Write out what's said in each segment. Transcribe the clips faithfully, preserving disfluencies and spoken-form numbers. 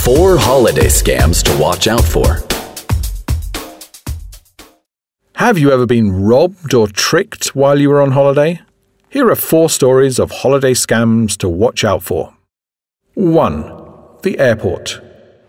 Four holiday scams to watch out for. Have you ever been robbed or tricked while you were on holiday? Here are four stories of holiday scams to watch out for. one. The airport.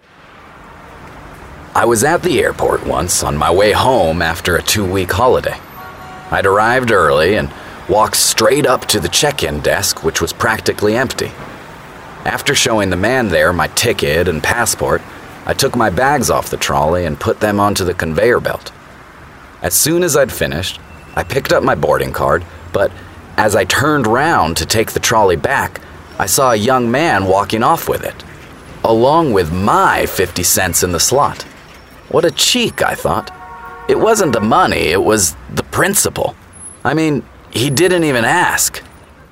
I was at the airport once on my way home after a two-week holiday. I'd arrived early and walked straight up to the check-in desk, which was practically empty. After showing the man there my ticket and passport, I took my bags off the trolley and put them onto the conveyor belt. As soon as I'd finished, I picked up my boarding card, but as I turned round to take the trolley back, I saw a young man walking off with it, along with my fifty cents in the slot. What a cheek, I thought. It wasn't the money, it was the principle. I mean, he didn't even ask.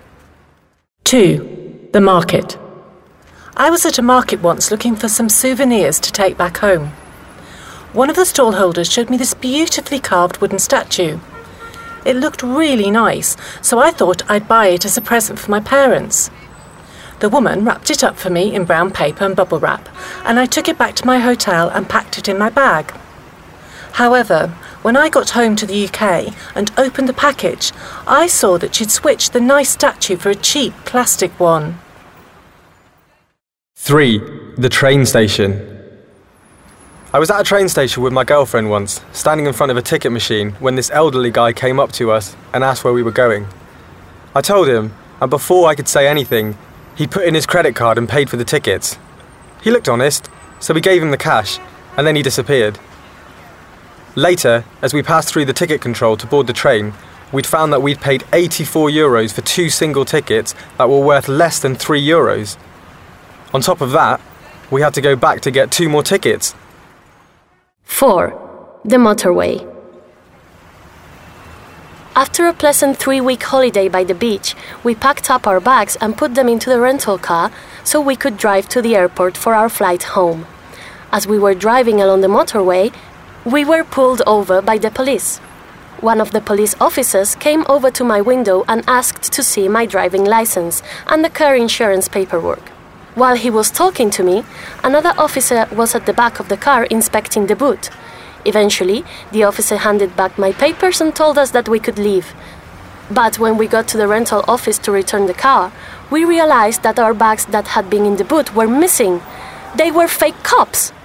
two. The market. I was at a market once looking for some souvenirs to take back home. One of the stall holders showed me this beautifully carved wooden statue. It looked really nice, so I thought I'd buy it as a present for my parents. The woman wrapped it up for me in brown paper and bubble wrap, and I took it back to my hotel and packed it in my bag. However, when I got home to the U K and opened the package, I saw that she'd switched the nice statue for a cheap plastic one. three. The train station. I was at a train station with my girlfriend once, standing in front of a ticket machine, when this elderly guy came up to us and asked where we were going. I told him, and before I could say anything, he put in his credit card and paid for the tickets. He looked honest, so we gave him the cash, and then he disappeared. Later, as we passed through the ticket control to board the train, we'd found that we'd paid eighty-four euros for two single tickets that were worth less than three euros. On top of that, we had to go back to get two more tickets. four. The motorway. After a pleasant three-week holiday by the beach, we packed up our bags and put them into the rental car so we could drive to the airport for our flight home. As we were driving along the motorway, we were pulled over by the police. One of the police officers came over to my window and asked to see my driving license and the car insurance paperwork. While he was talking to me, another officer was at the back of the car inspecting the boot. Eventually, the officer handed back my papers and told us that we could leave. But when we got to the rental office to return the car, we realized that our bags that had been in the boot were missing. They were fake cops.